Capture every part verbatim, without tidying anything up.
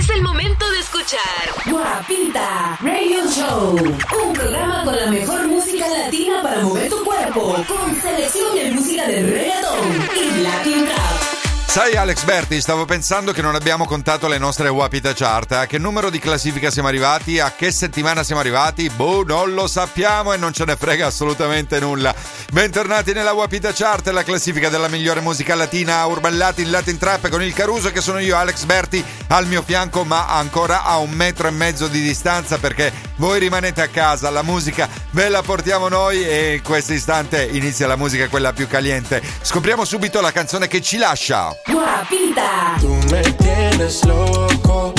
Es el momento de escuchar Guapita Radio Show, un programa con la mejor música latina para mover tu cuerpo, con selección de música de reggaeton y Latin Rap. Sai Alex Berti, stavo pensando che non abbiamo contato le nostre Guapita Chart. A che numero di classifica siamo arrivati? A che settimana siamo arrivati? Boh, non lo sappiamo e non ce ne frega assolutamente nulla. Bentornati nella Guapita Chart, la classifica della migliore musica latina, Urban Latin, Latin Trap, con il Caruso che sono io, Alex Berti, al mio fianco, ma ancora a un metro e mezzo di distanza, perché voi rimanete a casa, la musica ve la portiamo noi e in questo istante inizia la musica, quella più caliente. Scopriamo subito la canzone che ci lascia. Guapita. Tú me tienes loco,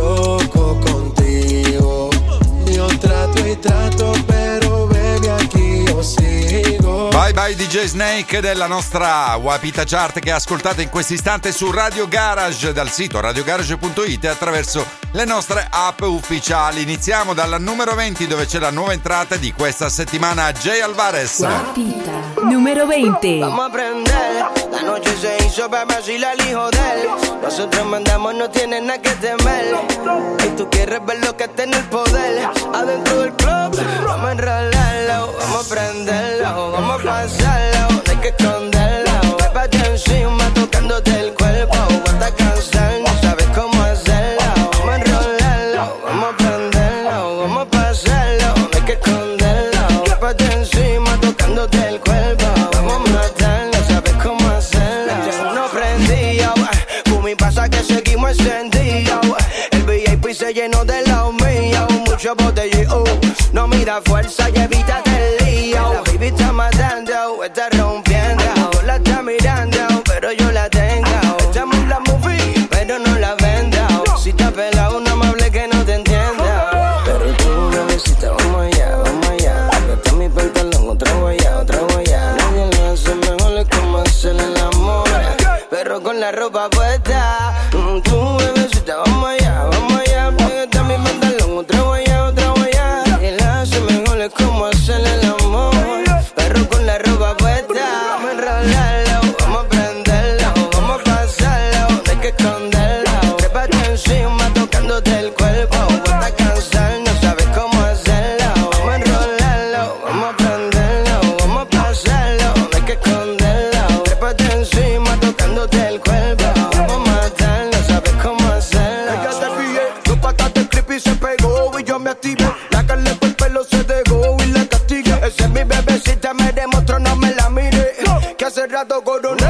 loco contigo. Yo trato y trato, pero baby aquí yo sigo. Bye bye D J Snake della nostra Guapita Chart, che ascoltate in questo istante su Radio Garage, dal sito radio garage punto it e attraverso le nostre app ufficiali. Iniziamo dalla numero venti, dove c'è la nuova entrata di questa settimana, Jay Alvarez. Guapita numero venti. Vamos a prender, la noche se hizo para vacilar el hijo de él. Nosotros mandamos, no tienen nada que temer. Y tú quieres ver lo que está en el poder. Adentro del club, vamos a enrolarlo, vamos a prenderlo, vamos a pasarlo, no hay que esconderlo. Trépate encima tocándote el cuerpo, aguanta cansar, no sabes cómo hacerlo. Vamos a enrolarlo, vamos a prenderlo, vamos a pasarlo, no hay que esconderlo. Trépate encima tocándote el cuerpo, vamos a matar, no sabes cómo hacerlo. No prendido, fumi pasa que seguimos encendidos. El V I P se llenó de los míos, mucho botellón. No mira fuerza y evítate el lío. La baby está matando, está rompiendo. La está mirando, pero yo la tengo. Echamos la movie, pero no la vendo. Si está pelado, no me hable que no te entienda. Pero tú, bebecita, vamos allá, vamos allá. Está mi pantalón, otra guaya, otra guaya. Nadie lo hace mejor, es como hacer el amor, pero con la ropa puesta. Mm, tú, bebecita, vamos allá, vamos allá. Está mi pantalón, otra guaya, otra guaya. Nadie lo hace mejor, es como hacer el amor, pero con la ropa puesta. Vamos a enrolarlo, vamos a prenderlo, vamos a pasarlo, no hay que esconderlo. Trépate encima tocándote el cuerpo, aguanta cansar, no sabes cómo hacerlo. Vamos a enrolarlo, vamos a prenderlo, vamos a pasarlo, no hay que esconderlo. Trépate encima tocándote el cuerpo, vamos a matar, no sabes cómo hacerlo. Ella se ríe, dos patas de creepy se pegó y yo me activé. La carne por el pelo se dejó y la castigué. Esa es mi bebecita, me demostró, no me la mire, que hace rato coroné.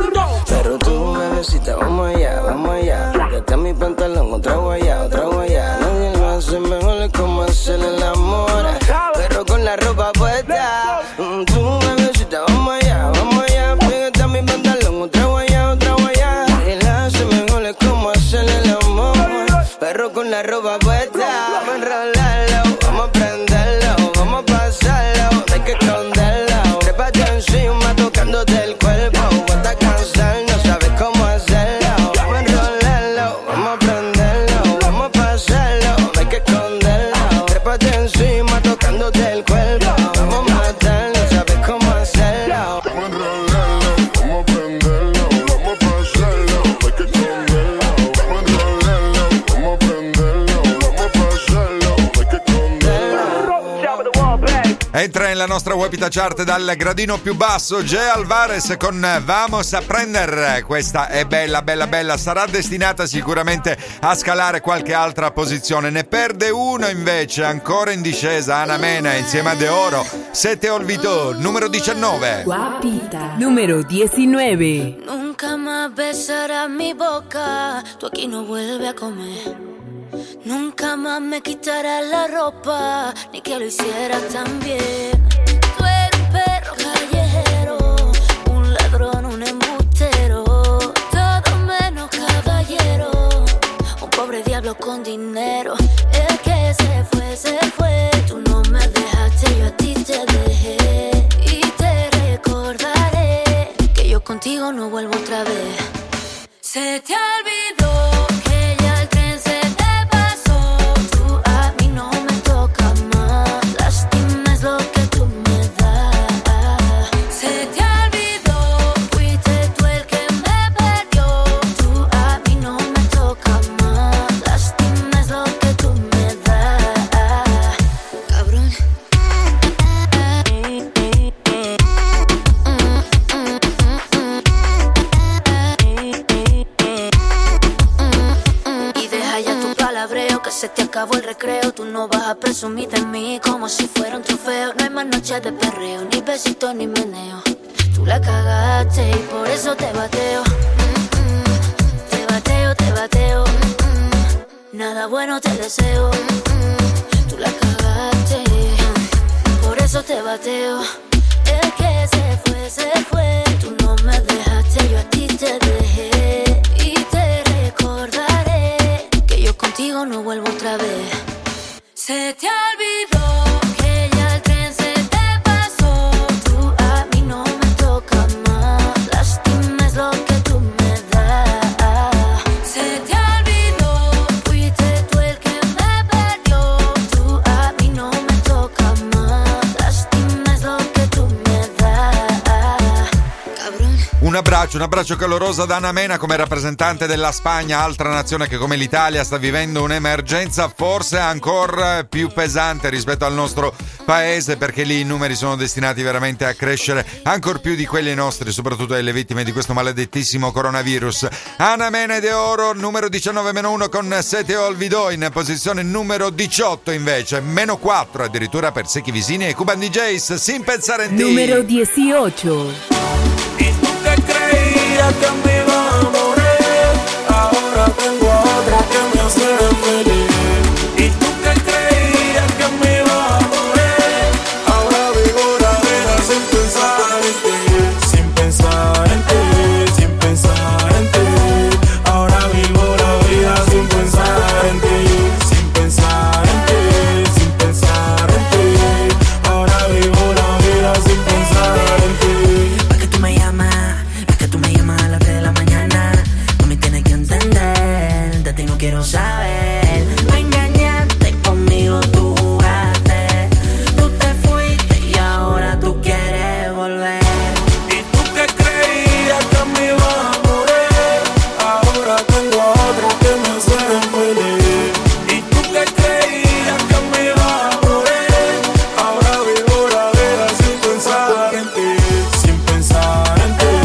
Pero tú, bebecita, vamos allá, vamos allá. Que está mi pantalón, otra guaya, otra guaya. Nadie lo hace mejor, es como hacer el amor, pero con la ropa puesta. Mm, Tú, bebecita, vamos allá, vamos allá. Que está mi pantalón, otra guaya, otra guaya. Nadie lo hace mejor, es como hacer el amor, pero con la ropa puesta. Vamos a enrolarlo, vamos a prenderlo, vamos a pasarlo, no hay que esconderlo. Trépate encima tocándote el cuerpo, aguanta cansar, no sabes cómo hacerlo. Vamos a enrolarlo, vamos a prenderlo, vamos a pasarlo, no hay que esconderlo. Trépate encima tocándote el cuerpo, vamos a matar, no sabes cómo hacerlo. Vamos a enrolarlo, vamos a prenderlo, vamos a pasarlo, no hay que esconderlo. Vamos a enrolarlo, vamos a prenderlo, vamos a pasarlo, no hay que esconderlo. Entra nella nostra Guapita Chart dal gradino più basso Jay Alvarez con Vamos a Prender. Questa è bella, bella, bella. Sarà destinata sicuramente a scalare qualche altra posizione. Ne perde uno invece, ancora in discesa, Ana Mena insieme a De Oro. Se te olvidó, numero diciannove. Guapita numero diecinueve. Nunca más besarás mi boca, tú aquí no vuelves a comer. Nunca más me quitarás la ropa, ni que lo hicieras también. Tú eres un perro callejero, un ladrón, un embustero, todo menos caballero, un pobre diablo con dinero. El que se fue, se fue, tú no me dejaste, yo a ti te dejé. Y te recordaré que yo contigo no vuelvo otra vez. Se te olvidó que ya el tren se te pasó, tú a mí no me toca más, lástima es lo que tú me das. Se te olvidó, fuiste tú el que me perdió, tú a mí no me toca más, lástima. se te acabó el recreo. Tú no vas a presumir de mí como si fuera un trofeo. No hay más noches de perreo, ni besitos ni meneo. Tú la cagaste y por eso te bateo. Mm-mm. Te bateo, te bateo. Mm-mm. Nada bueno te deseo. Mm-mm. Tú la cagaste, por eso te bateo. El que se fue, se fue. Tú no me dejaste, yo a ti te dejé. Y te recordaré que yo contigo no vuelvo otra vez. Se te olvidó que ya el tren se te pasó. Tú a mí no me tocas más. Lástima es lo que tú me das. Se te olvidó, fuiste tú el que me perdió. Tú a mí no me tocas más. Lástima es lo que tú me das. Cabrón. Un abbraccio, un abbraccio caloroso da Ana Mena come rappresentante della Spagna, altra nazione che come l'Italia sta vivendo un'emergenza forse ancora più pesante rispetto al nostro paese, perché lì i numeri sono destinati veramente a crescere ancor più di quelli nostri, soprattutto delle vittime di questo maledettissimo coronavirus. Ana Mena De Oro, numero diciannove meno uno con Se te olvidó, in posizione numero diciotto invece, meno quattro addirittura per Secchi Visini e Cuban D Js, Sin pensare en ti. Número dieciocho. Creía que me iba a morir, ahora tengo otra que me hace feliz. Y tú que creías que me iba a morir, ahora vivo la vida sin pensar en ti, sin pensar en ti, sin pensar en ti. Ahora vivo la vida sin pensar en ti, sin pensar en ti, sin pensar en ti. Ahora vivo la vida sin pensar en ti. ¿Para qué tú me llamas? Tú me llamas a las tres de la mañana. No me tienes que entender. De ti no quiero saber. Me engañaste conmigo, tú jugaste. Tú te fuiste y ahora tú quieres volver. Y tú que creías que me iba a morir, ahora tengo otra que me hace feliz. Y tú que creías que me iba a morir, ahora vivo la vida sin pensar en ti, sin pensar en ti.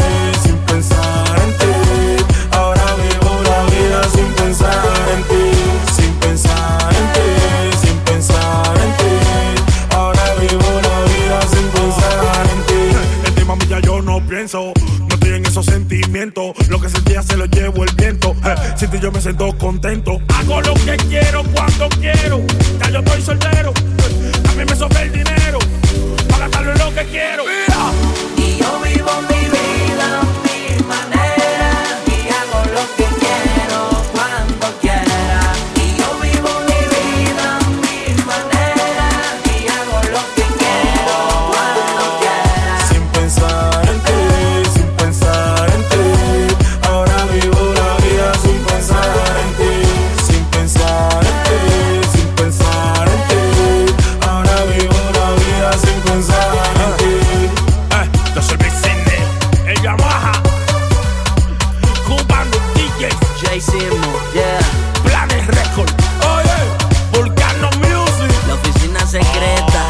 Sin pensar en ti, sin pensar en ti, sin pensar en ti. Ahora vivo la vida sin pensar en ti. En ti, mami, ya yo no pienso. No estoy en esos sentimientos. Lo que sentía se lo llevo el viento. Eh, sin ti yo me siento contento. Hago lo que quiero cuando quiero. Ya yo estoy soltero. A mí me sobra el dinero para gastarlo en lo que quiero. Mira. Y yo vivo mi vida a mi manera y hago lo que quiero cuando quiera. Y yo vivo mi vida a mi manera y hago lo que quiero cuando quiera. Sin pensar en ti, sin pensar en ti. Ahora vivo la vida sin pensar en ti, sin pensar en ti, sin pensar en ti. Ahora vivo la vida sin pensar en ti. Eh, yo soy Big Cindy, el Yamaha, Cuban D Js, Jay Simo, yeah. Planes Record, oye, Volcano Music. La oficina secreta.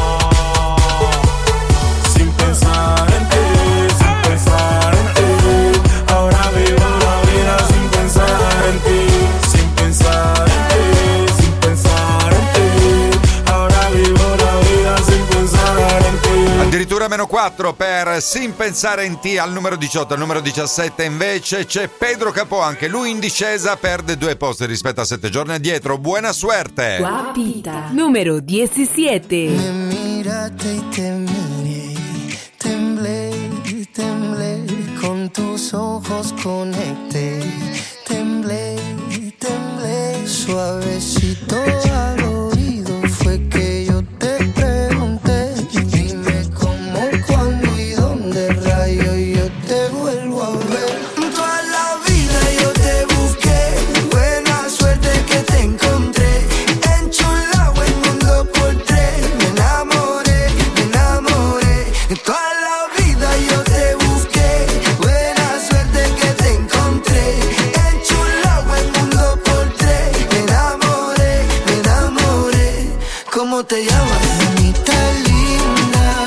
Sin pensar en ti, sin pensar en ti. Ahora vivo la vida sin pensar en ti, sin pensar en ti, sin pensar en ti. Ahora vivo la vida sin pensar en ti. Addirittura meno quattro per Sin pensare in ti al numero diciotto. Al numero diciassette invece c'è Pedro Capò, anche lui in discesa, perde due posti rispetto a sette giorni addietro. Buona suerte. Guapita. Número diecisiete. Me miraste y te miré, temblé, temblé, con tus ojos conecté, temblé, temblé, suavecito al oído fue que yo te pregunté, dime cómo, cuándo y dónde rayo yo te vuelvo a ver. Toda la vida yo te busqué, buena suerte que te encontré, enchulado el mundo por tres, me enamoré, me enamoré. Toda la vida yo te busqué, buena suerte que te encontré, enchulado el mundo por tres, me enamoré, me enamoré. ¿Cómo te llamas? Mamita linda.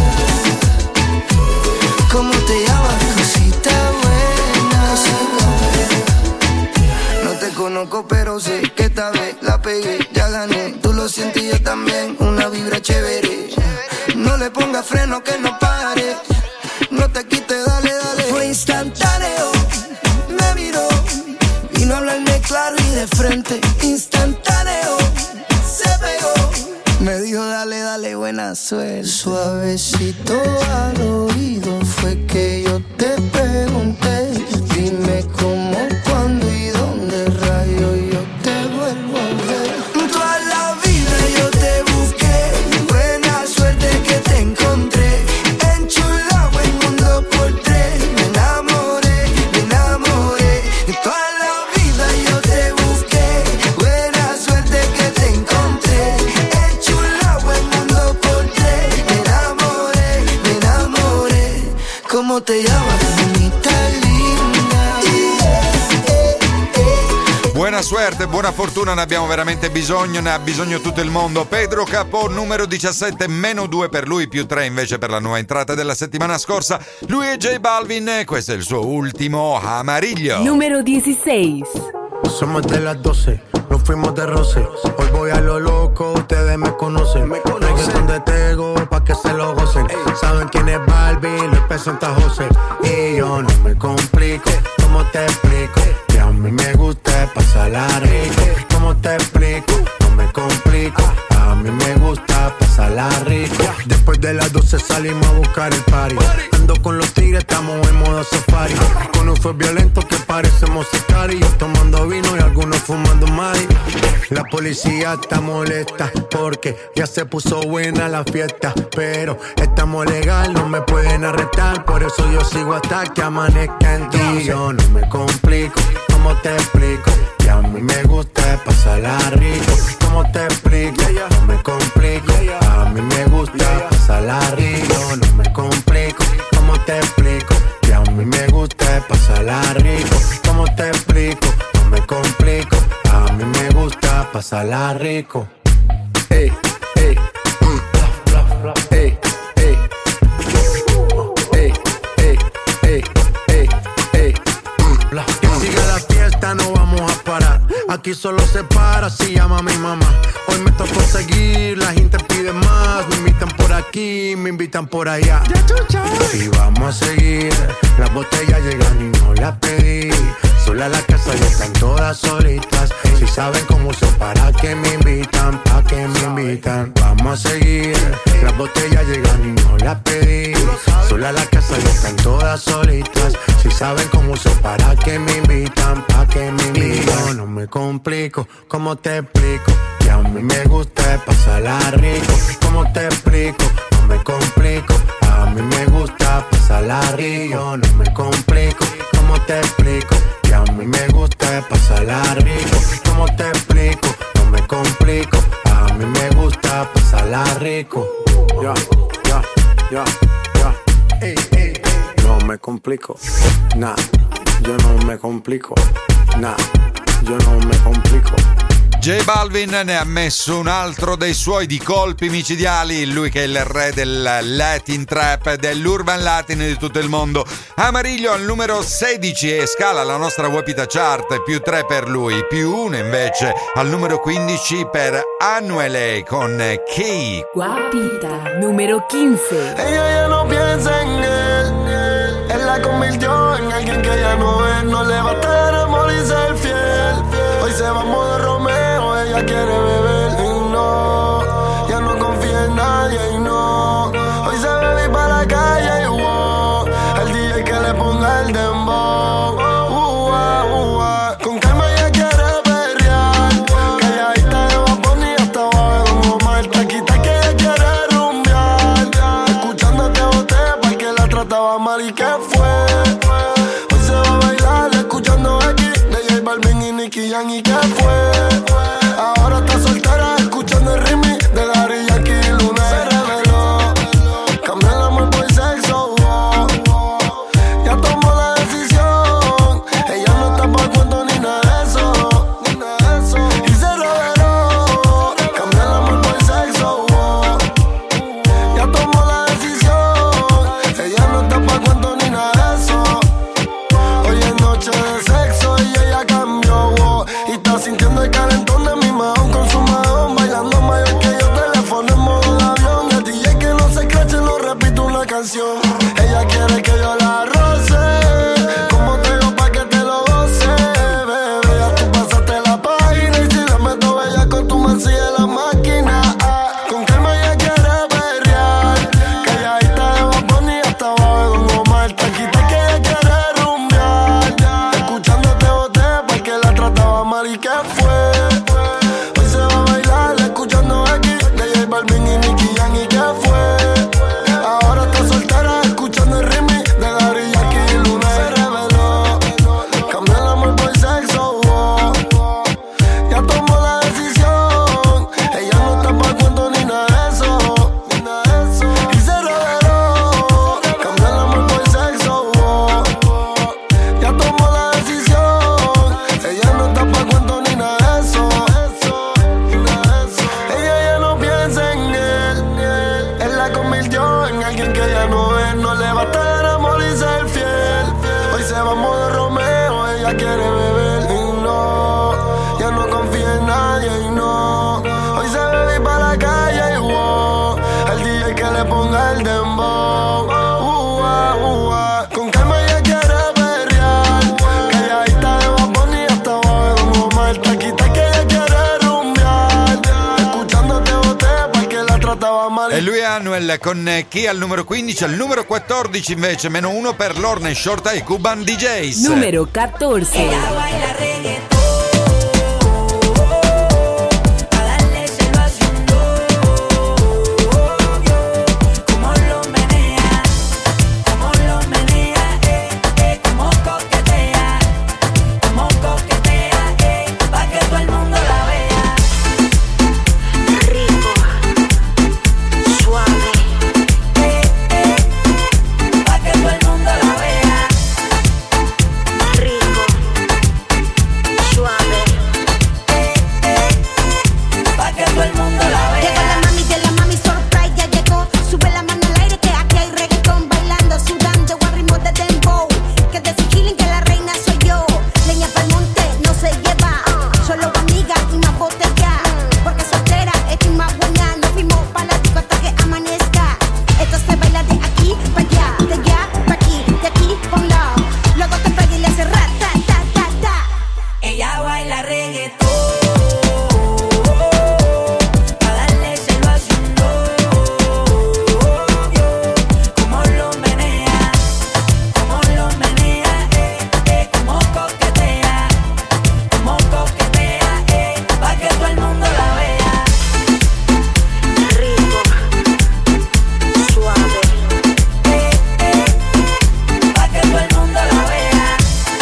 ¿Cómo te llamas? Cosita buena. No te conozco pero sé que esta vez la pegué, ya gané. Tú lo sientes y yo también, una vibra chévere. No le ponga freno que no pare. No te quites, dale, dale. Fue instantáneo, me miró. Vino a hablarme claro y de frente. Instantáneo, se pegó. Me dijo dale, dale, buena suerte. Suavecito al oído fue que yo te pregunté. Dime cómo, cuándo y dónde rayo yo te vuelvo a ver. Toda la vida yo te busqué. Buena suerte que te encontré. Enchulado en mundo por tres. Me enamoré, me enamoré. Toda la vida yo te busqué. Buena suerte que te encontré. Enchulado en mundo por tres. Me enamoré, me enamoré. ¿Cómo te llamas? Buona suerte, buona fortuna, ne abbiamo veramente bisogno, ne ha bisogno tutto il mondo. Pedro Capó, numero diciassette, meno due per lui, più tre invece per la nuova entrata della settimana scorsa. Lui è J Balvin, questo è il suo ultimo Amarillo. Número dieciséis. Somos de las doce, nos fuimos de roce. Hoy voy a lo loco, ustedes me conocen. Me conocen de Tego, pa' que se lo gocen. Ey. Saben quién es Barbie, les presenta José. Y yo no me complico, ¿cómo te explico? Que a mí me gusta pasarla rico. ¿Cómo te explico? No me complico, a mí me gusta pasarla rico. Después de las doce salimos a buscar el party. Ando con los tigres, estamos en modo safari. Con un fue violento que parecemos sicari. Yo tomando vino y algunos fumando mari. La policía está molesta porque ya se puso buena la fiesta. Pero estamos legal, no me pueden arrestar. Por eso yo sigo hasta que amanezca en ti. Yo no me complico, ¿cómo te explico? Que a mí me gusta pasarla rico. ¿Cómo te explico? No me complico, a mí me gusta pasarla rico. No me complico, ¿cómo te explico? Que a mí me gusta pasarla rico. ¿Cómo te explico? No me complico, a mí me gusta pasarla rico. Ey, ey, mm. ey, ey, ey, ey, ey, ey, ey, mm. Que siga la fiesta, no vamos a parar. Aquí solo se para si llama mi mamá. Hoy me tocó seguir, la gente pide más. Me invitan por aquí, me invitan por allá. Y vamos a seguir, las botellas llegan y no las pedí. Sola la casa ya están todas solitas. Si saben cómo son, para que me invitan, pa' que me invitan. Vamos a seguir, las botellas llegan y no las pedí. Sola la casa ya están todas solitas. Si saben cómo son, para que me invitan, pa' que me invitan. Yo no me complico, ¿cómo te explico? Que a mí me gusta pasarla rico. ¿Cómo te explico? No me complico, a mí me gusta pasarla rico. Yo no me complico, ¿cómo te explico? Que a mí me gusta pasarla rico. ¿Cómo te explico? No me complico, a mí me gusta pasarla rico. Ya, ya, ya, ya. Ey, ey, no me complico, nah, yo no me complico, nah, yo no me complico. J Balvin ne ha messo un altro dei suoi di colpi micidiali, lui che è il re del Latin Trap, dell'Urban Latin di tutto il mondo. Amarillo al numero sedici e scala la nostra Wapita Chart, più tre per lui, più uno invece al numero quindici per Anuele con Key. Guapita, número quince. Ella ya no piensa en él, él la convirtió en alguien que ya no es. No le basta el amor y ser fiel. Hoy se va a modo Romeo, ella quiere beber y no, ya no confía en nadie y no. Hoy se bebe para la calle y wow, el D J que le ponga el dembow. Uh, uh, uh, con calma ella quiere perrear, calladita de Bad Bunny hasta abajo de Don Omar. Taquita que ella quiere rumbear, escuchándote boté para que la trataba mal y que fue. Hoy se va a bailar escuchando aquí de J Balvin y Nicky Jam y que fue. Ahora está soltera escuchando el remix de Daddy Yankee y Luna. Se reveló, cambió el amor por sexo, oh, oh. Ya tomó la decisión, ella no está pa' cuento ni nada de eso, ni nada de eso. Y se reveló, cambió el amor por sexo, oh. Ya tomó la decisión, ella no está pa' cuento ni nada de eso. Hoy es noche de sexo y ella cambió, oh. Y está sintiendo el calentón de mi mano con fue? Hoy se va a bailar escuchando aquí de J Balvin y Nicky Jam. ¿Y qué fue? Ahora está soltera escuchando el remix de Daddy Yankee y Luna. Se reveló, cambió el amor por sexo, oh. Ya tomó la decisión, ella no está pa' cuento ni nada de eso. Y se reveló, cambió el amor por sexo, oh. Ya tomó la decisión, ella no está pa' cuento ni nada de eso. Ella ya no piensa en él, él la convirtió en alguien que ella no es. No le basta el amor y ser fiel. Hoy se va a modo Romeo, ella quiere beber y no, ya no confía en nadie y no. Hoy se bebe para la calle y wow, el D J que le ponga el dembow. Uh, ah, uh, ah. Con calma ella quiere perrear, calladita de Bad Bunny hasta abajo de Don Omar. Taquita que ella quiere rumbear, escuchándote boté pa' que la trataba mal. E lui è Anuel con eh, chi al numero quindici, al numero quattordici invece meno uno per Lorna e Shorta e Cuban D Js. Número catorce. Ella baila reggaetón, pa' darle se lo hace un do. Como lo menea, como lo menea, eh, eh, como coquetea, como coquetea, eh, pa' que todo el mundo la vea. Rico, suave, eh, eh, pa' que todo el mundo la vea. Rico, suave, eh, eh, pa' que todo el mundo la vea. Llegó la mami de la mami surprise, ya llegó. Sube la mano al aire que aquí hay reggaetón, bailando, sudando al ritmo de dembow. Que de su chilling que la reina soy yo. Leña pa'l monte no se lleva, solo amiga y más botella. Porque soltera estoy más buena, nos fuimos pa' la disco hasta que amanezca. Esto se baila de aquí pa' allá, de allá pa' aquí, de aquí pa' un lado. Luego te pega y le hace ra, ta, ta, ta, ta. Ella baila reggaetón, pa' darle se lo hace un do. Como lo menea, como lo menea, eh, eh, como coquetea, como coquetea, eh, pa' que todo el mundo la vea. Rico, suave, eh, eh, pa' que todo el mundo la vea.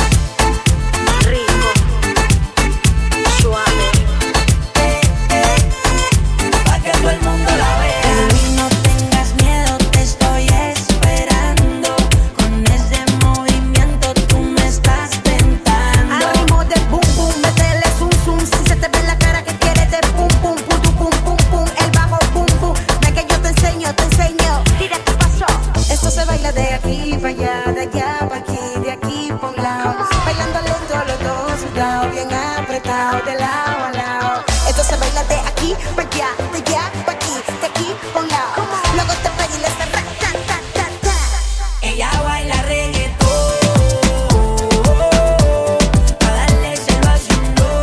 Rico, suave, eh, eh, pa' que todo el mundo la vea. Baby, no tengas miedo, te estoy esperando. Con ese movimiento tú me estás tentando. Al ritmo de boom boom, métele zoom zoom. Si se te ve en la cara que quieres de pum pum, pum pum pum pum pum. El bajo pum pum, ven que yo te enseño, te enseño. Mira qué pasó. Esto se baila de aquí para allá, de allá para aquí, de aquí pa' un lado. Bailando lento los dos sudados, bien apretado de lado a lado. Esto se baila de aquí para allá, de allá para aquí, de aquí pa' un lado. Luego te pega y le hace ra, ta, ta, ta, ta. Ella baila reggaetón, pa' darle se lo hace un do.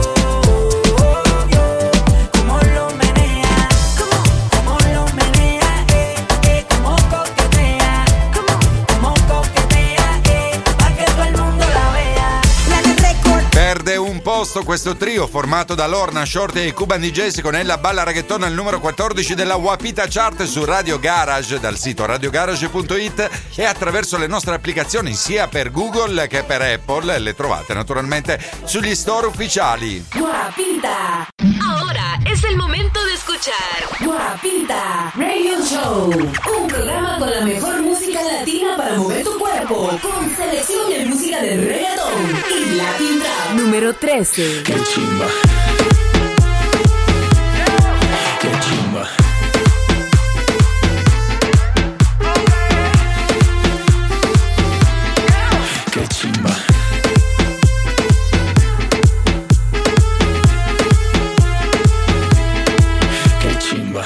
Como lo menea, como lo menea, eh, eh, como coquetea, como coquetea, eh, pa' que todo el mundo la vea. La del record. Perde un posto questo trio formato da Lorna, Shorty e Cuban D Js con Ella Balla Reggaeton al numero quattordici della Wapita Chart su Radio Garage, dal sito radio garage punto it e attraverso le nostre applicazioni sia per Google che per Apple. Le trovate naturalmente sugli store ufficiali. Guapita. Ahora es el momento de escuchar Guapita Radio Show. Un programa con la mejor música latina para mover tu cuerpo. Con selección de música de reggaeton y Latin Trap. Número trece. Qué chimba. Qué chimba. Qué chimba. Qué chimba.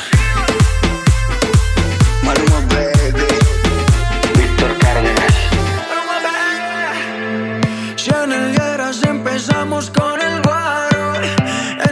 Maluma baby, Víctor Cárdenas. Si en el Geras empezamos con el guaro,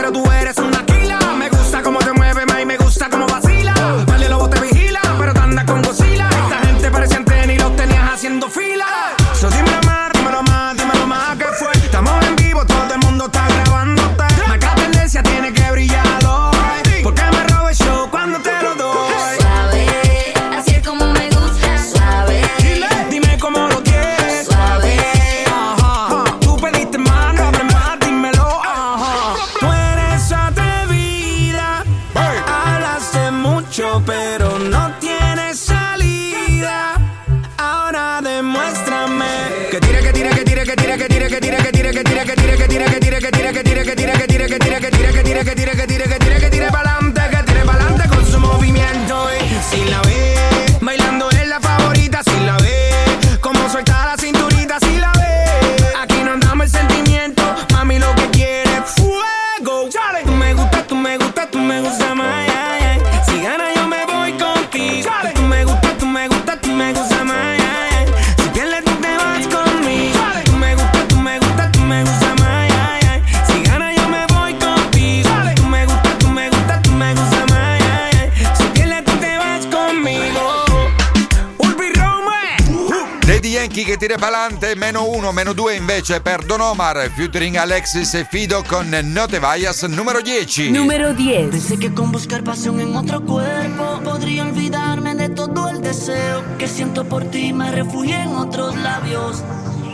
que tire, que tire, que tire, que tire, que tire, que tire, que tire pa'lante, que tire pa'lante con su movimiento. Y si la ve, bailando es la favorita, si la ve, como suelta la cinturita, si la ve. Aquí no andamos el sentimiento, mami lo que quiere es fuego. Chale. Tú me gustas, tú me gustas, tú me gustas más. Ay, ay. Si gana yo me voy contigo. Chale. Tú me gustas, tú me gustas, tú me gustas más. Ay, ay. Si pierdes tú te vas conmigo. Chale. Tú me gustas, tú me gustas, tú me gustas más. Ay, ay. Si gana yo me voy contigo. Chale. Tú me gustas, tú me gustas, tú me gustas más. Ay, ay. Si pierdes tú te vas conmigo. Urbi Rome. Daddy Yankee che tira pa'lante, meno uno, meno due invece per Don Omar, featuring Alexis e Fido con No Te Vayas, numero dieci. Número diez. Pensé que con buscar pasión en otro cuerpo podría olvidarme de todo el deseo que siento por ti, me refugié en otros labios.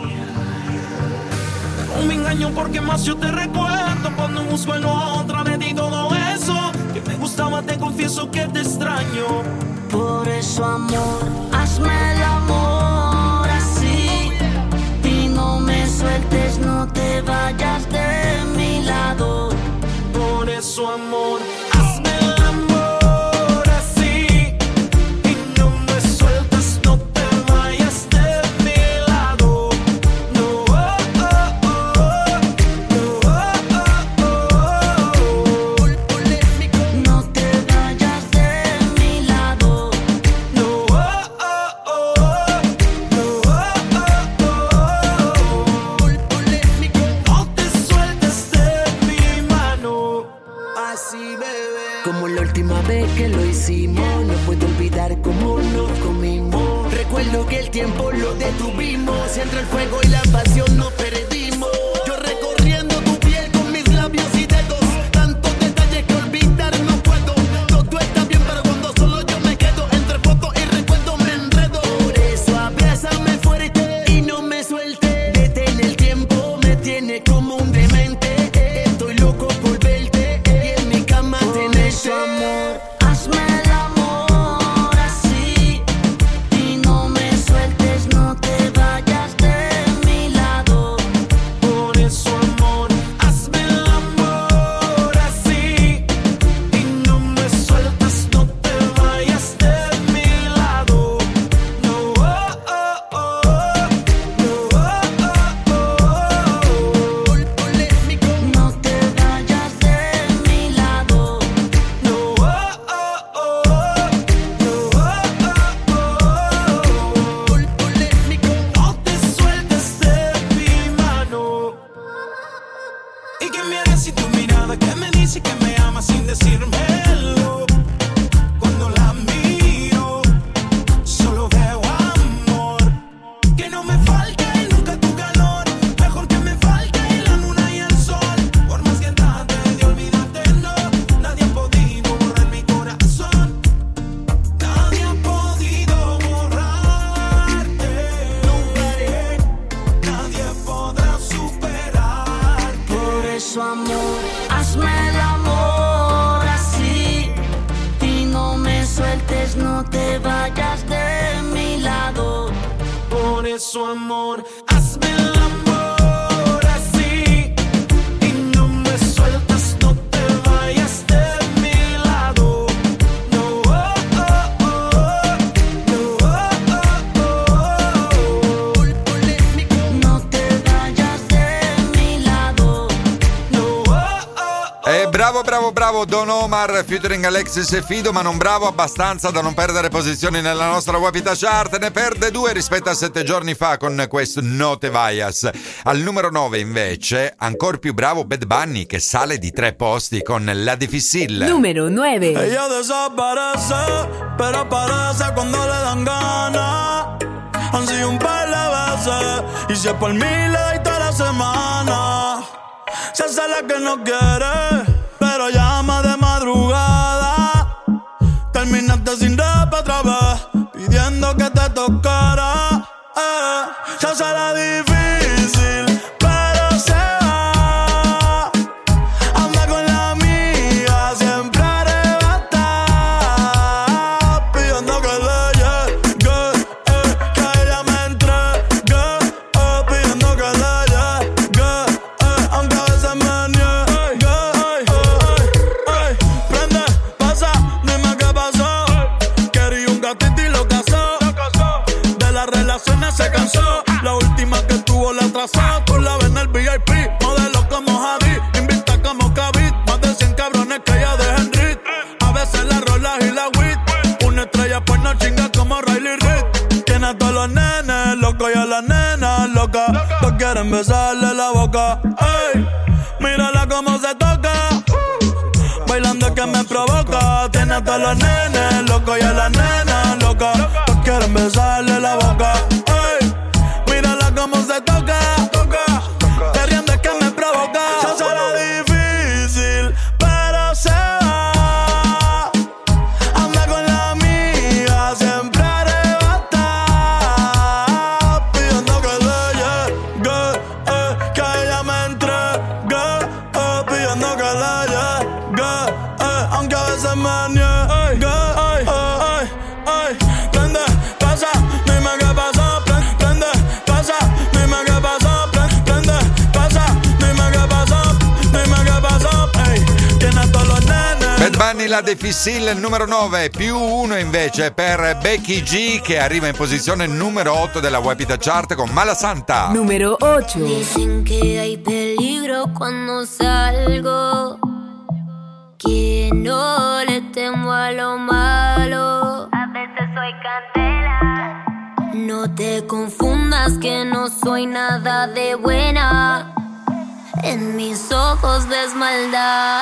No me engaño porque más yo te recuerdo cuando busco en otra de ti todo eso que me gustaba, te confieso que te extraño. Por eso, amor, hazme el amor así y no me sueltes, no te vayas de mi lado. Por eso, amor, hazme el amor así y no me sueltes, no te vayas de mi lado. No, oh, oh, oh, no, oh, oh, oh. No te vayas de mi lado. No, oh, oh, oh, no, oh, oh, oh. No te sueltes de mi mano. Así, bebé. Como la última vez que lo hicimos, no puedo olvidar cómo nos comimos. Recuerdo que el tiempo lo detuvimos, entre el fuego y la pasión nos perdimos. Yo recorriendo tu piel con mis labios y dedos, tantos detalles que olvidar no puedo. Todo está bien, pero cuando solo yo me quedo, entre fotos y recuerdos me enredo. Por eso abrázame fuerte y no me suelte. Detén el tiempo, me tiene como un demente. Estoy loco por verte y en mi cama tenerte. Amor, hazme el amor así y no me sueltes, no te vayas de mi lado. Por eso, amor, hazme el amor así y no me sueltes, no te vayas de mi lado. No, oh, oh, oh, no, oh, oh, oh. No te vayas de mi lado. No, oh, oh, oh, no, oh, oh, oh. No te sueltes de mi mano. ¿Y qué me harás si tu mirada que me dice que me amas sin decírmelo? Cuando la miro, solo veo amor. Que no me falte nunca tu calor. Mejor que me falte la luna y el sol. Por más que trate de olvidarte, no. Nadie ha podido borrar mi corazón. Nadie ha podido borrarte. Nadie podrá superar. Por eso, amor, hazme el amor así y no me sueltes, no te vayas de mi lado. Por eso, amor, hazme el amor así y no me sueltas, no te vayas de mi lado. No, oh, oh, oh, no, oh, oh, oh. No te vayas de mi lado. No, oh, oh, oh. Eh, bravo, bravo, bravo Don Omar featuring Alexis e Fido, ma non bravo abbastanza da non perdere posizioni nella nostra Wapita Chart. Ne perde due rispetto a sette giorni fa con questo No Te Vayas. Al numero nove invece, ancora più bravo Bad Bunny che sale di tre posti con La Difícil. Número nueve. Ella desaparece, pero aparece cuando le dan ganas. Han sido un par de veces, y si es por mí le doy toda la semana. Se hace la que no quiere, pero llama de madrugada. Terminaste sin rap otra vez, pidiendo que te tocara. Eh, se hace la difícil, pero se va. Anda con la amiga, siempre arrebata, pidiendo que le llegue, eh, que ella me entregue, eh, pidiendo que le llegue, eh, aunque a veces me niegue. besarle la boca. Ey, mírala cómo se toca. Bailando que me provoca. Tiene a todos los nenes locos y a las nenas locas. Todos quieren besarle la boca. Ey, mírala cómo se toca. Te riendo que me provoca. Se hace la difícil, pero se va. Anda con la amiga, siempre arrebata. Pidiendo que le llegue, eh, que ella me entregue, eh, pidiendo que le llegue, eh, aunque a veces me niegue. Ay, ay, ay, prende, pasa, dime qué pasó. Prende, pasa, dime qué pasó. Prende, pasa, dime qué pasó. Dime qué pasó. Ey, tiene a todos los nenes. Bad Bunny, la Difficile, il numero nove, più uno invece per Becky G, che arriva in posizione numero otto della Wapita Chart con Mala Santa. Numero ocho. Dicen que hay peligro cuando salgo, que no le temo a lo malo. A veces soy candela. No te confundas que no soy nada de buena. En mis ojos ves maldad.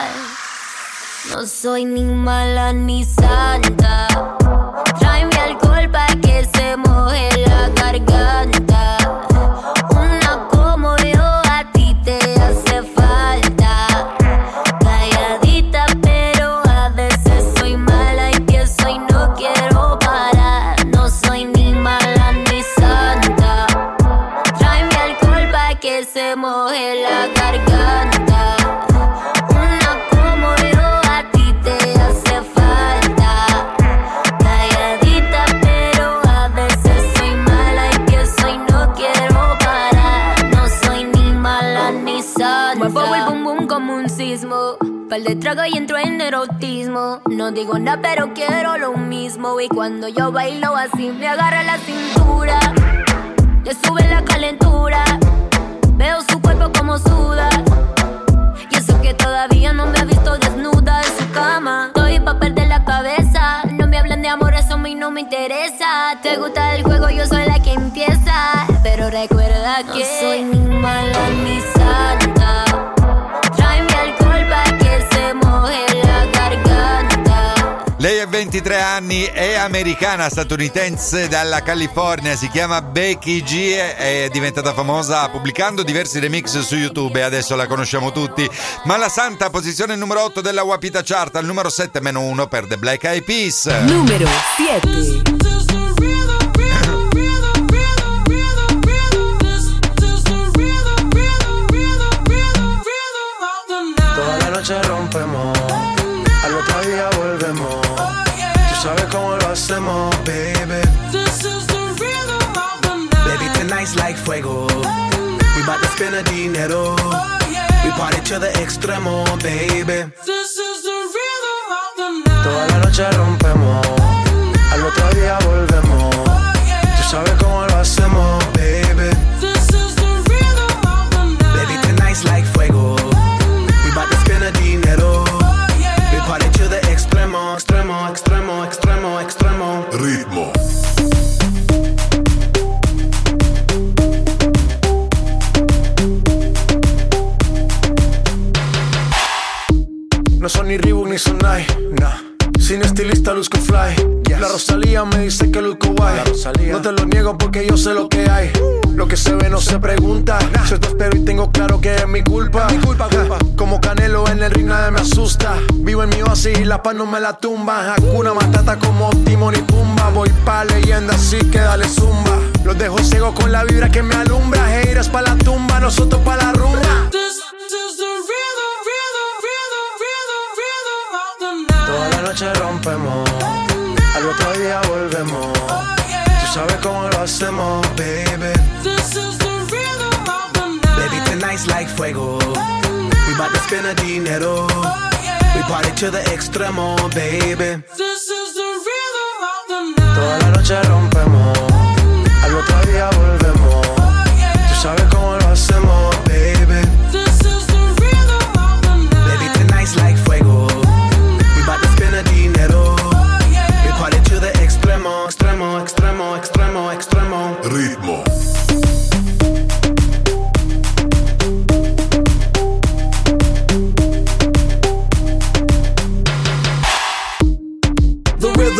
No soy ni mala ni santa. Tráeme alcohol pa' que se moje la garganta. Una como yo a ti te hace falta. Calladita pero a veces soy mala y pienso y no quiero parar. No soy ni mala ni santa. Tráeme alcohol pa' que se moje la garganta. Una como yo a ti te hace falta. Calladita pero a veces soy mala y pienso y no quiero parar. No soy ni mala ni santa. Muevo el bum bum como un sismo. Par de trago y entro en erotismo. No digo nada pero quiero lo mismo. Y cuando yo bailo así me agarra la cintura. Le sube la calentura. Veo su cuerpo como suda. Y eso que todavía no me ha visto desnuda en su cama. Estoy pa' perder la cabeza. No me hablan de amor, eso a mí no me interesa. Te gusta el juego, yo soy la que empieza. Pero recuerda que no soy ni mala ni santa. Tráeme alcohol pa' che se moje la garganta. Lei ha ventitré anni, è americana, statunitense dalla California, si chiama Becky G, è diventata famosa pubblicando diversi remix su YouTube e adesso la conosciamo tutti. Mala Santa, posizione numero otto della Wapita Chart, al numero sette meno uno per The Black Eyed Peas. Numero siete. Toda la noche rompemos, al otro día volvemos. Tú sabes cómo lo hacemos, baby. Baby, tonight's like fuego. We bout to spend a dinero. We party to the extremo, baby. Toda la noche rompemos, al otro día volvemos. Tú sabes cómo lo hacemos, baby. Baby, tonight's like fuego. We bout to spend a dinero. We party to the extremo, extremo, extremo, extremo, extremo. Ritmo. No son ni Reebok ni Sonai, nah. Sin estilista luzco fly, yes. La Rosalía me dice que luzco guay. No te lo niego porque yo sé lo que hay. Lo que se ve no se pregunta. Nah. Yo te espero y tengo claro que es mi culpa, es mi culpa, culpa. Como Canelo en el ring nadie me asusta. Vivo en mi oasis y la paz no me la tumba. Hakuna Matata como Timon y Pumba. Voy pa' leyenda así que dale zumba. Los dejo ciego con la vibra que me alumbra. Haters pa' la tumba, nosotros pa' la rumba. Toda la noche rompemos, al otro día volvemos. Tú sabes cómo lo hacemos, baby. Baby, tonight's like fuego. We bout to spend a dinero. We party to the extremo, baby. Toda la noche rompemos, al otro día volvemos. Tú sabes cómo lo hacemos, baby. Baby, tonight's like fuego. Bout to spend a dinero. We party to the extremo, extremo, extremo, extremo, extremo. Ritmo.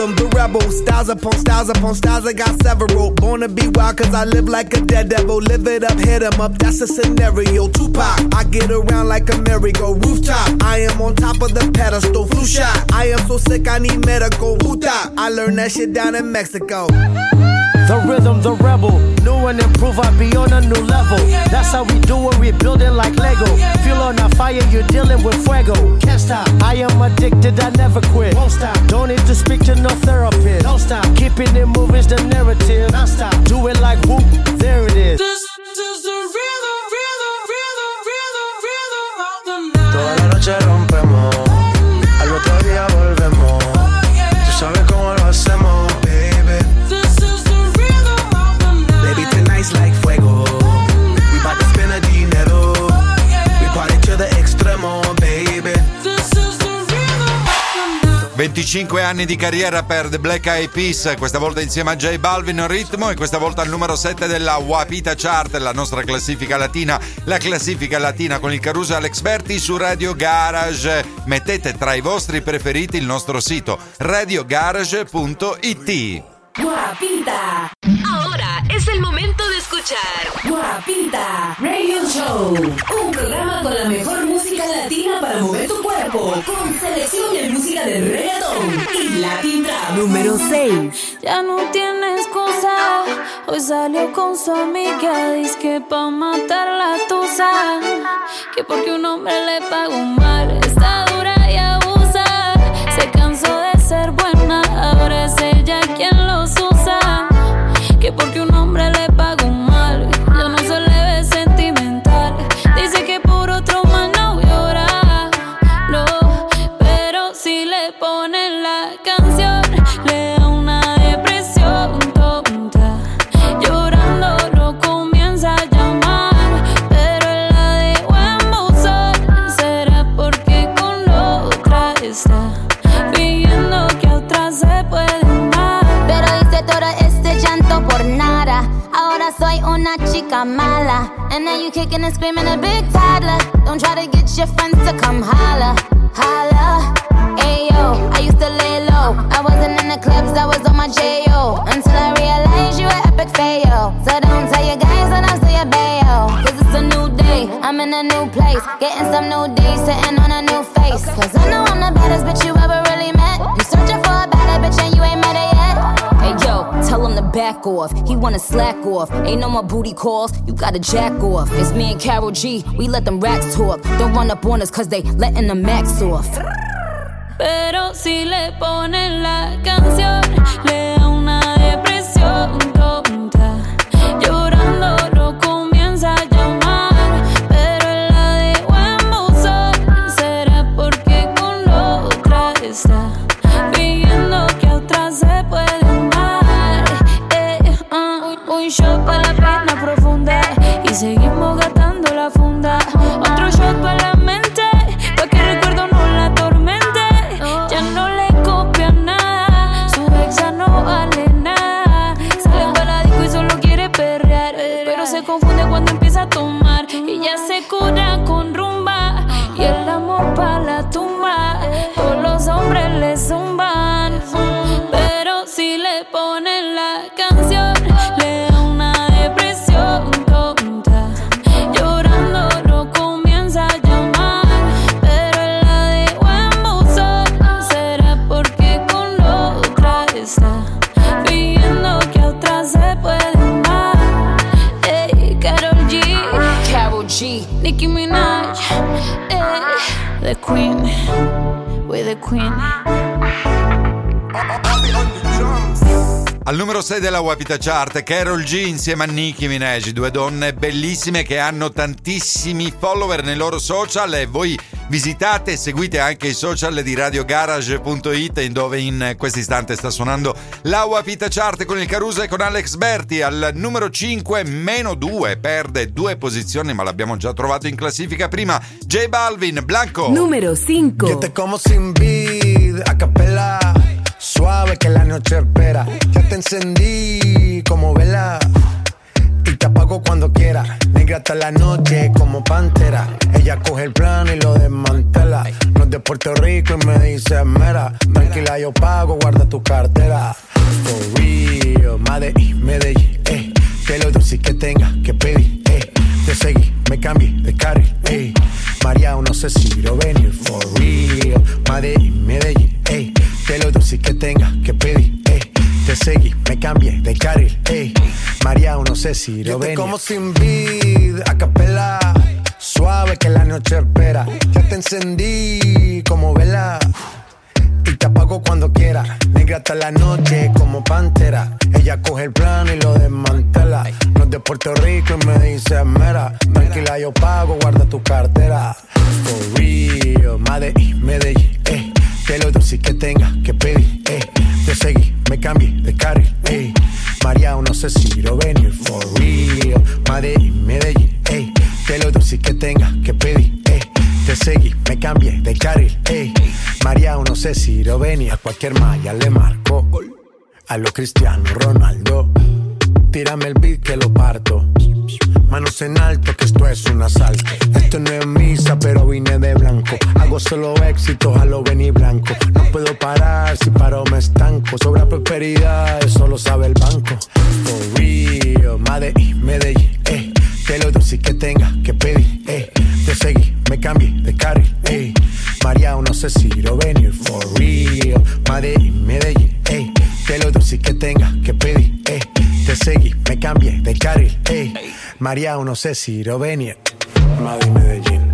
rhythm, the rebel. Styles upon styles upon styles, I got several. Born to be wild cause I live like a dead devil. Live it up, hit 'em up, that's a scenario. Tupac, I get around like a merry-go. Rooftop, I am on top of the pedestal. Flu shot, I am so sick I need medical. Puta, I learned that shit down in Mexico. The rhythm, the rebel. New and improve, I be on a new level. That's how we do it, we build it like Lego. Feel on a fire, you're dealing with fuego. Can't stop, I am addicted, I never quit. Won't stop, don't need to speak to no therapist. Don't stop, keeping it moving's the narrative. Don't stop, do it like whoop, there it is. This is the rhythm, rhythm, rhythm, rhythm, rhythm of the night. Toda la noche rompemos, al otro día volvemos. Tú sabes cómo lo hacemos, baby. Baby, tonight's like fuego. We bout to spend a dinero. We party to the extremo, baby. venticinque anni di carriera per The Black Eyed Peas, questa volta insieme a J Balvin Ritmo, e questa volta al numero sette della Wapita Chart, la nostra classifica latina, la classifica latina con il Caruso e Alex Berti su Radio Garage. Mettete tra i vostri preferiti il nostro sito radio garage punto it. Guapita. Ahora es el momento de escuchar Guapita Radio Show, un programa con la mejor música latina para mover tu cuerpo, con selección de música de reggaetón y Latin Trap. Número seis. Ya no tiene excusa, hoy salió con su amiga, dice que pa' matar la tusa, que porque un hombre le pagó mal, está dura y abusa, se cansó de ser buena, ahora es ella quien los usa, que porque un hombre le pagó mal, ya no se le ve sentimental, dice que por otro más no llora, no, pero si le ponen la canción, le da una depresión tonta, llorando lo comienza a llamar, pero él la dejó en buzón, será porque con la otra está, fingiendo que a otra se puede amar, pero hice todo este llanto por nada, ahora soy una chica mala, and now you kicking and screaming a big toddler, don't try to get your friends to come holla, holla, ayo, I used to lay low, I wasn't in the clubs, I was on my J O, until I realized you were epic fail, so don't tell your guys that I'm still your bayo, cause it's a new day, I'm in a new place, getting some new days, sitting on a new face, cause I know I'm the baddest bitch you ever really met, you searching for a better bitch and you ain't met her yet, hey yo, tell him to back off, he wanna slack off, ain't no more booty calls, you gotta jack off, it's me and Karol G, we let them racks talk, don't run up on us cause they letting the max off. Pero si le ponen la canción, le da una depresión tonta, llorando lo comienza a llamar, pero él la dejó en buzón, será porque con la otra está, fingiendo que a otra se puede amar, eh, uh, un shot para la pena profunda, y seguimos gastando la funda, otro shot para la mente, pa' que el recuerdo no la atormente. Ya no le copia nada, su ex ya no vale nada. Sale para la disco y solo quiere perrear, pero se confunde cuando empieza a tomar. Y ya se cura con rumba, y el amor pa' la tumba. Todos los hombres le zumban, pero si le ponen la canción, le da una depresión tonta, llorando lo comienza a llamar, pero él la dejó en buzón, será porque con la otra está, fingiendo que a otra se puede amar. Ey, Karol G, Karol G, Nicki Minaj, ey, the queen, we're the queen. Al numero sei della Wapita Chart, Karol G insieme a Nicki Minaj, due donne bellissime che hanno tantissimi follower nei loro social, e voi visitate e seguite anche i social di radio garage punto it, in dove in questo istante sta suonando la Wapita Chart con il Caruso e con Alex Berti. Al numero cinque, meno due, perde due posizioni, ma l'abbiamo già trovato in classifica prima, J Balvin, Blanco. Numero cinco. Yo te como sin vid, a capela, suave que la noche espera. Ya te encendí como vela y te apago cuando quiera. Negra hasta la noche como pantera. Ella coge el plano y lo desmantela. No es de Puerto Rico y me dice mera. Tranquila, yo pago, guarda tu cartera. For real, Medellín, Medellín, eh. Que lo dulce que tenga que pedir, eh. Te seguí, me cambié de carril, eh. María, no sé si lo venir. For real, Medellín, Medellín, eh. Que lo dulce que tenga que pedir, eh. Te seguí, me cambié de carril, eh. María, no sé si lo venir. Yo te como sin vid, a capela. Suave que la noche espera. Ya te encendí como vela. Y te apago cuando quiera. Negra hasta la noche como pantera. Ella coge el plano y lo desmantela. No es de Puerto Rico y me dice mera. Tranquila, yo pago, guarda tu cartera. For real, Medellín, Medellín, eh. Que lo dulce que tenga que pedir, eh. Te seguí, me cambié de carril, eh. María, no sé si lo venir. For real, Medellín, Medellín, eh. Que lo dulce que tenga que pedir, eh. Te seguí, me cambié de carril, ey. María, no sé si lo venía. A cualquier malla le marco. A lo Cristiano Ronaldo. Tírame el beat que lo parto. Manos en alto, que esto es un asalto. Esto no es misa, pero vine de blanco. Hago solo éxitos a lo Benny Blanco. No puedo parar, si paro me estanco. Sobra prosperidad, eso lo sabe el banco. For real, Medellín, Medellín, eh. Que lo dulce que tenga que pedir, eh. Te seguí, me cambié de carril, eh. María, no sé si lo venir. For real, Medellín, Medellín, eh. Que lo dulce que tenga que pedir, eh. Te seguí, me cambié de carril, eh. Maria, non sé si Rovenia, ma di Medellin.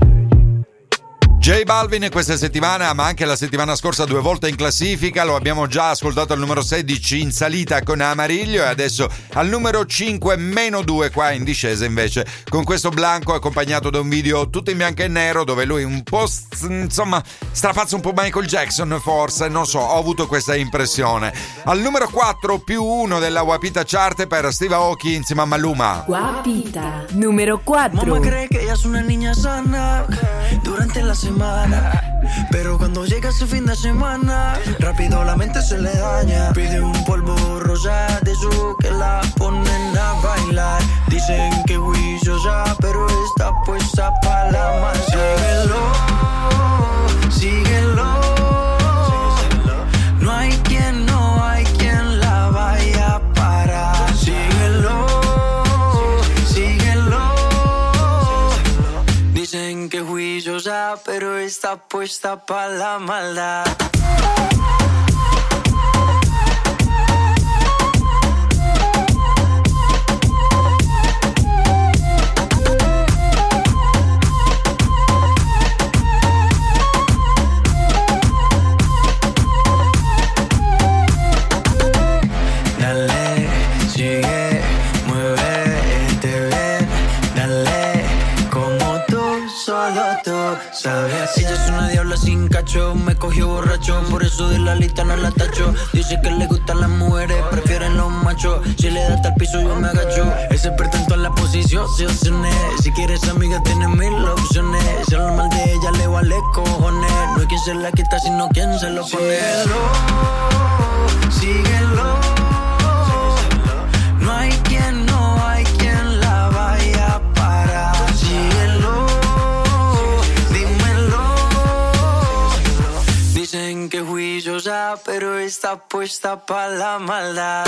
J Balvin questa settimana, ma anche la settimana scorsa, due volte in classifica. Lo abbiamo già ascoltato al numero sedici in salita con Amarillo e adesso al numero cinque meno due qua in discesa invece con questo Blanco, accompagnato da un video tutto in bianco e nero dove lui un po' insomma strapazza un po' Michael Jackson, forse, non so, ho avuto questa impressione. Al numero quattro più uno della Guapita Chart per Steve Aoki insieme a Maluma. Guapita numero quattro. Mamá cree que ella es una niña sana durante la semana, pero cuando llega ese fin de semana rápido la mente se le daña. Pide un polvo rosa de su que la ponen a bailar. Dicen que juiciosa pero está puesta pa' la masa. Síguelo, síguelo. No hay quien, no hay quien la vaya a parar. Síguelo, síguelo. Dicen que juiciosa pero está puesta pa' la maldad. Dale, sigue, muévete bien. Dale, como tú, solo tú sabes. Ella es una diabla sin cacho, me cogió borracho, por eso de la lista no la tacho. Dice que le gustan las mujeres, prefieren los machos. Si le das al piso yo me agacho. Es experta en todas las posiciones. Si quieres amiga tienes mil opciones. Si habla mal de ella le vale cojones. No hay quien se la quita sino quien se lo pone. Síguelo, síguelo. No hay quien, no hay quien la vaya a parar. Síguelo, dímelo. Dicen que juiciosa pero está puesta pa' la maldad.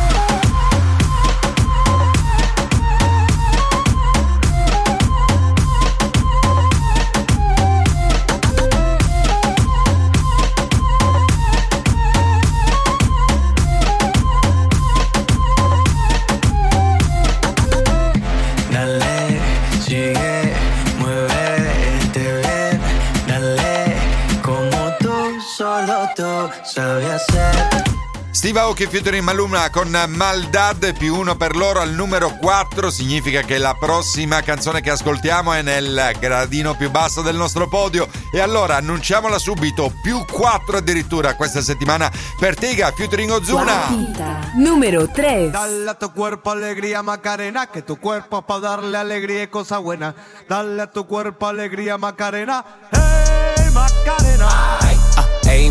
Dale, sigue, muévete bien. Dale, como tú, solo tú sabes hacer. Steve Aoki featuring Maluma con Maldad, più uno per loro al numero quattro, significa che la prossima canzone che ascoltiamo è nel gradino più basso del nostro podio e allora annunciamola subito, più quattro addirittura questa settimana per Tiga featuring Ozuna. Guapita numero tre. Dale a tu cuerpo alegría Macarena, que tu cuerpo es para darle alegría y cosa buena. Dale a tu cuerpo alegría Macarena, hey Macarena. Ay, uh, hey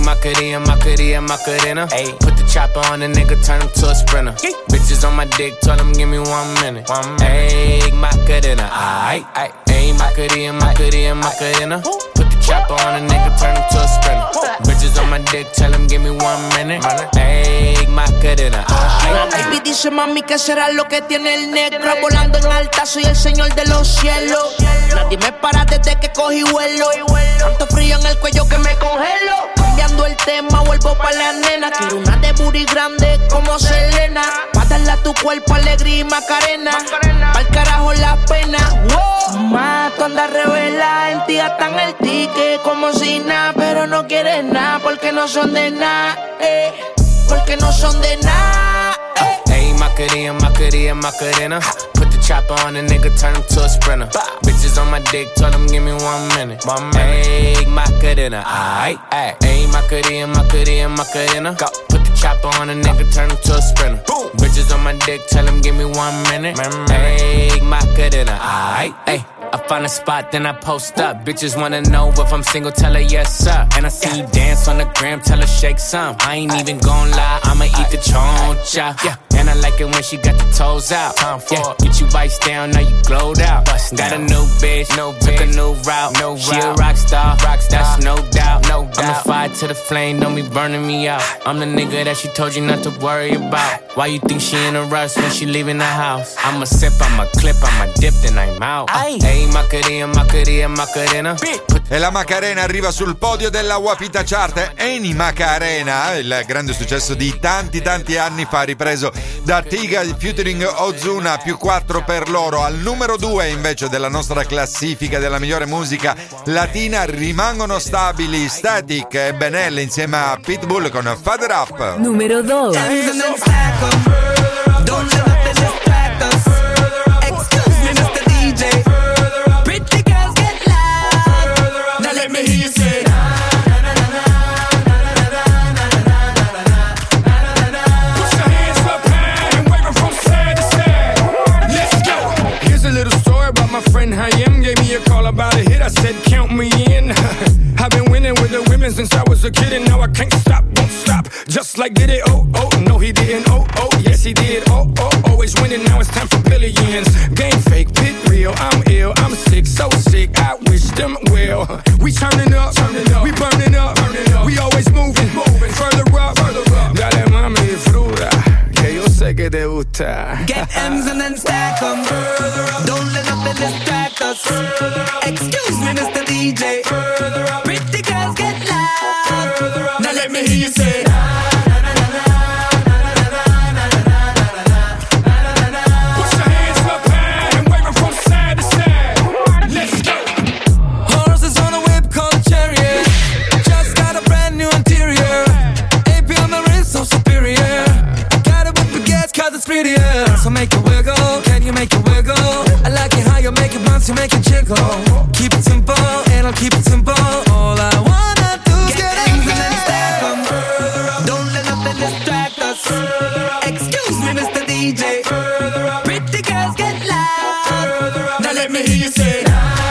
Macarena, Macarena, Macarena. Ayy, put the chopper on the nigga, turn him to a sprinter. Yay. Bitches on my dick, tell him give me one minute. One minute. Ayy, Macarena, aight, aight. Ayy, Macarena, Macarena, Macarena. Put the chopper on the nigga, turn him to a sprinter. Bitches on my dick, tell him give me one minute. Ayy, Macarena, aight. Baby dice mami que será lo que tiene el negro. Volando en alta, soy el señor de los cielos. Nadie me para desde que cogí vuelo. Tanto frío en el cuello que me congelo. Cambiando el tema, vuelvo pa' la nena. Quiero una de booty grande como Selena. Pa' darle a tu cuerpo alegría y Macarena. Pa'l carajo la pena. Wow. Mato anda revela, en ti gastan el ticket como si nada. Pero no quieres nada porque no son de nada, eh. Porque no son de nada, eh. Ayy, Macarena, Macarena, Macarena. Put the chopper on the nigga, turn him to a sprinter. Bitches on my dick, tell him give me one minute. One minute. Ayy, Macarena, aight, aight. Ayy, Macarena, Macarena, Macarena. Go. Put the chopper on the nigga, turn him to a sprinter. Boom. Bitches on my dick, tell him give me one minute. Ayy, Macarena, aight, ayy. I find a spot, then I post up. Bitches wanna know if I'm single, tell her yes, sir. And I see you dance on the gram, tell her shake some. I ain't even gon' lie, I'ma eat the choncha. Yeah. And I like it when she got the toes out. Yeah. Get you vice down, now you glowed out. Got a new bitch, no took a new route. No she route. A rock star, rock star, that's no doubt. No doubt. I'm the fire to the flame, don't be burning me out. I'm the nigga that she told you not to worry about. Why you think she in a rush when she leaving the house? I'ma sip, I'ma clip, I'ma dip, then I'm out. Hey, Macarena, Macarena, Macarena. E la Macarena arriva sul podio della Wapita Chart. Eni Macarena, il grande successo di tanti tanti anni fa, ripreso da Tiga featuring Ozuna, più quattro per loro. Al numero due invece della nostra classifica della migliore musica latina rimangono stabili Static e Benel insieme a Pitbull con Father Up. Numero due. About a hit, I said count me in. I've been winning with the women since I was a kid, and now I can't stop, won't stop. Just like did it, oh, oh, no he didn't, oh, oh, yes he did, oh, oh, always winning, now it's time for billions. Game fake, pit real, I'm ill, I'm sick, so sick, I wish them well. We turning up, turning up, we burning up, burning up. We always moving, moving, further up, further up. Dale mami, fruta, que yo sé que te gusta. Get M's and then stack them. Don't let nothing distract us. Excuse me, Mister D J. Pretty girls get loud. Now let me hear you say. Put your hands up high and wave 'em from side to side. Let's go. Horses on a whip called chariot. Just got a brand new interior. A P on my wrist, so superior. Got it with baguettes 'cause it's prettier. So make it wiggle, can you make it wiggle? I like it how you make it bounce, you make it jiggle. Keep it simple, and I'll keep it simple. All I wanna do is get M's and then stack them. Don't let nothing distract us. Excuse me, Mister D J. Pretty girls get loud. Now let me hear you say.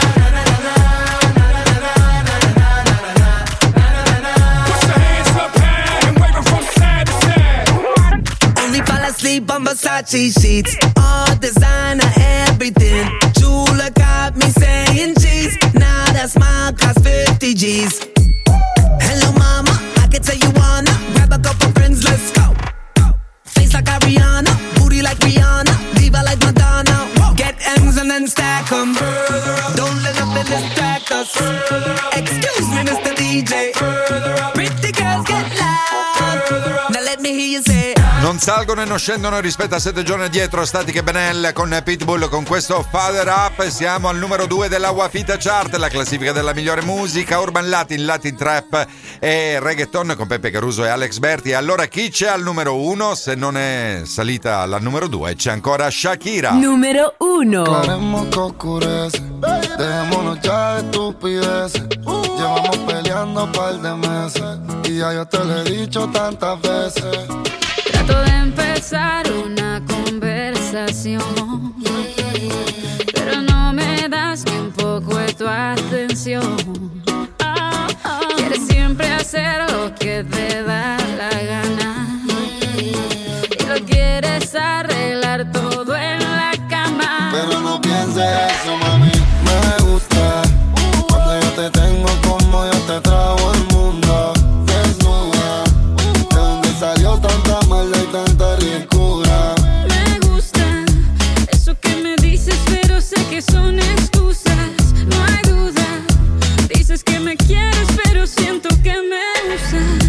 Put your hands up high and wave 'em from side to side. Only fall asleep on Versace sheets. All designer, everything. Chula got me saying cheese. Now that smile costs fifty G's. Hello mama, I can tell you wanna grab a couple friends, let's go. Face like Ariana, booty like Rihanna, diva like Madonna. Get M's and then stack them. Don't let nothing distract us. Excuse me, Mister D J. Pretty girls get loud. Now let me hear you say. Non salgono e non scendono rispetto a sette giorni addietro Static e Benel con Pitbull con questo Father Up. Siamo al numero due della Wapita Chart, la classifica della migliore musica urban latin, latin trap e reggaeton con Peppe Caruso e Alex Berti. E allora chi c'è al numero uno? Se non è salita alla numero due c'è ancora Shakira. Numero uno. Aclaremos que oscurece, dejémonos ya de estupideces. Llevamos peleando un par de meses y ya yo te lo he dicho tantas veces. Trato de empezar una conversación, pero no me das ni un poco de tu atención. Quieres siempre hacerlo lo que te da la gana. Y lo quieres arreglar todo en la cama. Pero no pienses eso, mami. Me gusta cuando yo te tengo como yo te trago el mundo. Desnuda, de donde salió tanta maldad y tanta ricura. Me gusta eso que me dices, pero sé que son excusas. No hay duda. Dices que me quieres, pero siento que me usas.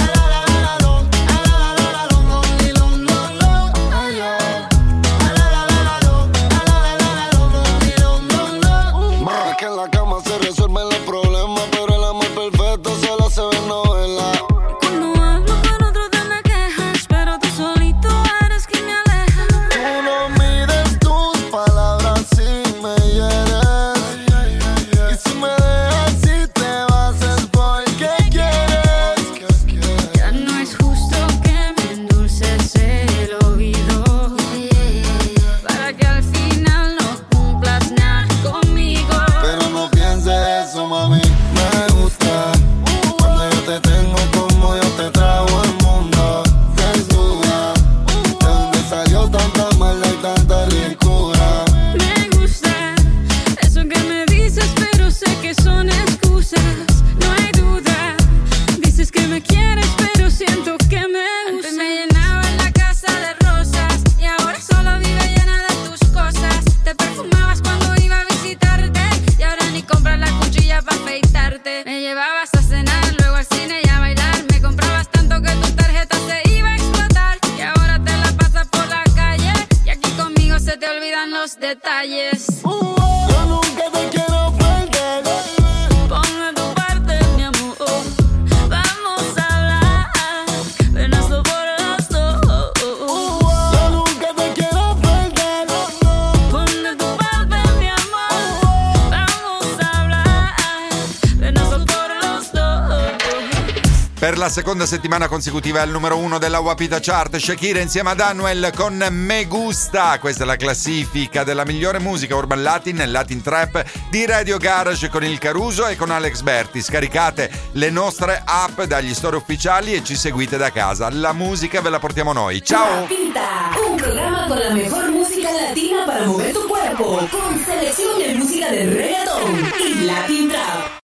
Es que en la cama se resuelven los problemas, pero el amor perfecto solo se ve en novela. Cuando hablo con otro te me quejas, pero tú solito eres quien me aleja. Tú no mides tus palabras si me hieres. Y si me dejas y te vas es porque quieres. Ya no es justo que me endulces el oído, para que al final no cumplas nada conmigo. Pero no pienses eso, mami. Me gusta cuando yo te tengo como yo te trago el mundo. Desnuda, de donde salió tanta maldad y tanta ricura. Me gusta eso que me dices, pero sé que son excusas. No hay duda. Dices que me quieres, pero siento que me usas. Antes me llenaba la casa de rosas y ahora solo vive llena de tus cosas. Te perfumabas cuando iba a visitarte y ahora ni compras la cuchilla para afeitarte. Me llevabas a cenar, luego al cine y a bailar. Me comprabas tanto que tu tarjeta se iba a explotar y ahora te la pasas por la calle y aquí conmigo se te olvidan los detalles. Yo nunca te quiero perder. Ponme tu parte, mi amor. Vamos a hablar. Ven, hazlo por los dos. Yo nunca te quiero perder. Ponme tu parte, mi amor. Vamos a hablar. Ven, hazlo por los dos. Per la seconda settimana consecutiva è al numero uno della Wapita Chart, Shakira insieme ad Anuel con Me Gusta. Questa è la classifica della migliore musica urban latin e latin trap di Radio Garage con il Caruso e con Alex Berti. Scaricate le nostre app dagli store ufficiali e ci seguite da casa. La musica ve la portiamo noi. Ciao! Wapita, un programa con la mejor música latina para mover tu cuerpo, con selección de música de reggaeton y latin trap.